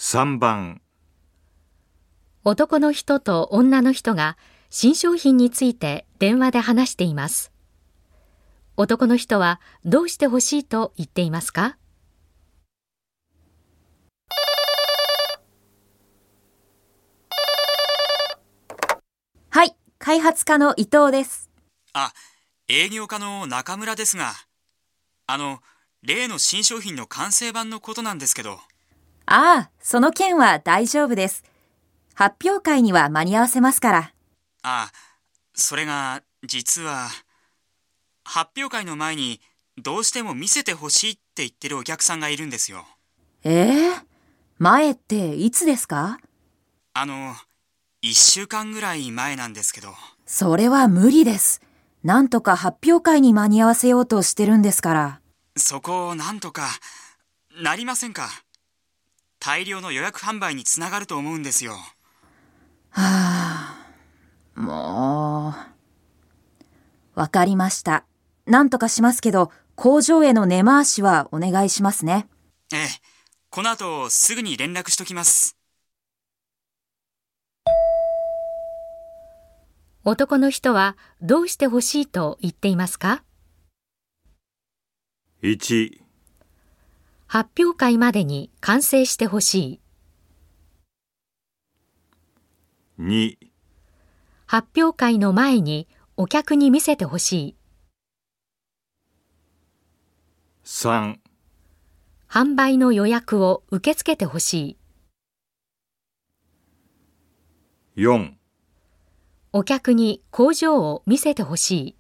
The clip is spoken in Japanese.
3番、 男の人と女の人が新商品について電話で話しています。男の人はどうしてほしいと言っていますか？ はい、開発課の伊藤です。 営業課の中村ですが、例の新商品の完成版のことなんですけど。 その件は大丈夫です。発表会には間に合わせますから。 それが、実は、発表会の前にどうしても見せてほしいって言ってるお客さんがいるんですよ。 前っていつですか 1週間ぐらい前なんですけど。 それは無理です。なんとか発表会に間に合わせようとしてるんですから。 そこをなんとかなりませんか？大量の予約販売につながると思うんですよ。 もう。わかりました。なんとかしますけど、工場への根回しはお願いしますね。 この後すぐに連絡しときます。 男の人はどうしてほしいと言っていますか？ 1、 発表会までに完成してほしい。 2、 発表会の前にお客に見せてほしい。 3、 販売の予約を受け付けてほしい。 4、 お客に工場を見せてほしい。